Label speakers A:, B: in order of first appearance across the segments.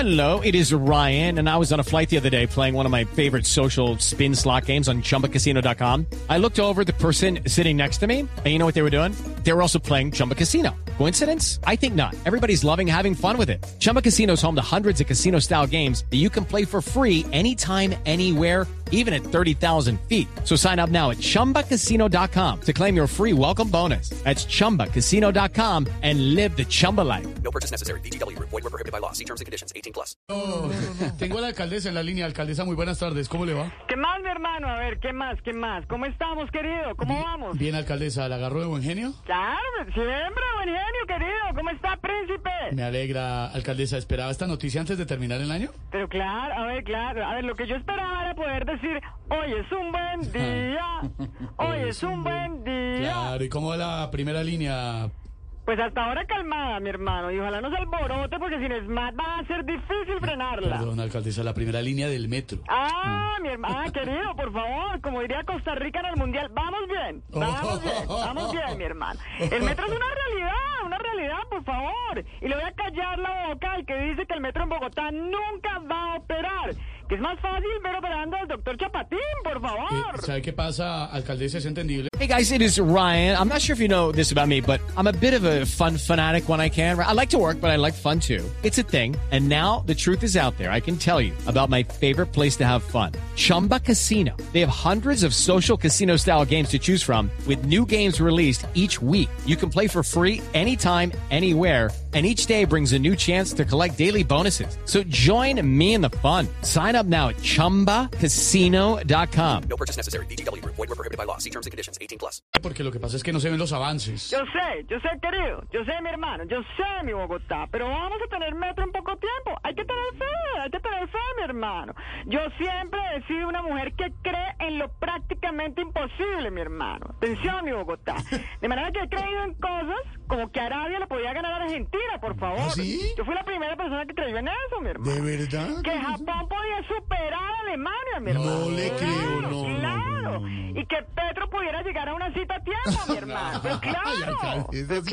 A: Hello, it is Ryan, and I was on a flight the other day playing one of my favorite social spin slot games on ChumbaCasino.com. I looked over at the person sitting next to me, and you know what they were doing? They were also playing Chumba Casino. Coincidence? I think not. Everybody's loving having fun with it. Chumba Casino is home to hundreds of casino-style games that you can play for free anytime, anywhere, even at 30,000 feet. So sign up now at ChumbaCasino.com to claim your free welcome bonus. That's ChumbaCasino.com and live the Chumba life.
B: No purchase necessary. VGW. Void were prohibited by law. See terms and conditions. 18+.
C: Tengo a la alcaldesa en la línea. Alcaldesa, muy buenas tardes. ¿Cómo le va?
D: ¿Qué más, mi hermano? A ver, ¿qué más? ¿Cómo estamos, querido? ¿Cómo vamos?
C: Bien, alcaldesa. ¿La agarró de buen genio?
D: Claro, siempre, buen genio, querido. ¿Cómo está, príncipe?
C: Me alegra, alcaldesa. ¿Esperaba esta noticia antes de terminar el año?
D: Pero claro. A ver, lo que yo esperaba era poder decir, hoy es un buen día, hoy es un buen día.
C: Claro, ¿y cómo va la primera línea?
D: Pues hasta ahora calmada, mi hermano, y ojalá no se alborote porque sin SMAT va a ser difícil frenarla.
C: Perdón, alcaldesa, la primera línea del metro.
D: Mi hermano, querido, por favor, como diría Costa Rica en el Mundial, vamos bien, mi hermano. El metro es una realidad, por favor. Y le voy a callar la boca al que dice que el metro en Bogotá nunca va a operar. Que es más fácil ver operando al doctor Chapatín, por favor.
C: ¿Sabe qué pasa, alcaldesa? ¿Es entendible?
A: Hey guys, it is Ryan. I'm not sure if you know this about me, but I'm a bit of a fun fanatic when I can. I like to work, but I like fun too. It's a thing. And now the truth is out there. I can tell you about my favorite place to have fun. Chumba Casino. They have hundreds of social casino style games to choose from with new games released each week. You can play for free anytime, anywhere. And each day brings a new chance to collect daily bonuses. So join me in the fun. Sign up now at ChumbaCasino.com.
B: No purchase necessary. VGW. Void were prohibited by law. See terms and conditions. 18+.
C: Porque lo que pasa es que no se ven los avances.
D: Yo sé, querido, yo sé, mi hermano, yo sé, mi Bogotá, pero vamos a tener metro en poco tiempo. Hay que tener fe, mi hermano. Yo siempre he sido una mujer que cree en lo prácticamente imposible, mi hermano. Atención, mi Bogotá. De manera que he creído en cosas como que Arabia le podía ganar a Argentina, por favor.
C: ¿Ah, sí?
D: Yo fui la primera persona que creyó en eso, mi hermano.
C: ¿De verdad?
D: Que Japón podía superar a Alemania, mi hermano.
C: No le creo, no.
D: Y que Petro pudiera llegar a una cita a tiempo, mi hermano. Pero claro.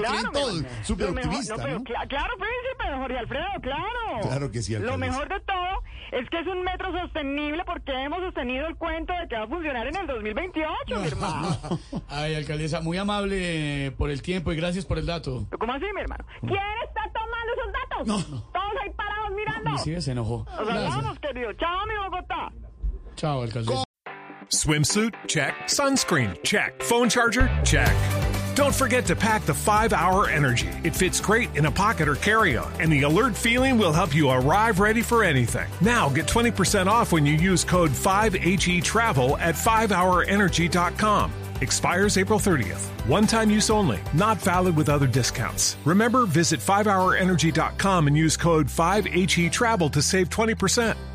C: Súper optimista, ¿no?
D: Claro, príncipe, Jorge Alfredo, claro.
C: Claro que sí, alcaldesa.
D: Lo mejor de todo es que es un metro sostenible porque hemos sostenido el cuento de que va a funcionar en el 2028, mi hermano.
C: Ay, alcaldesa, muy amable por el tiempo y gracias por el dato.
D: ¿Cómo así, mi hermano? ¿Quién está tomando esos datos?
C: No.
D: Todos ahí parados mirando.
C: Sí, se enojó.
D: Nos hablamos, querido. Chao, mi Bogotá.
C: Chao, alcaldesa.
E: Swimsuit? Check. Sunscreen? Check. Phone charger? Check. Don't forget to pack the 5-Hour Energy. It fits great in a pocket or carry-on, and the alert feeling will help you arrive ready for anything. Now get 20% off when you use code 5HETRAVEL at 5hourenergy.com. Expires April 30th. One-time use only. Not valid with other discounts. Remember, visit 5hourenergy.com and use code 5HETRAVEL to save 20%.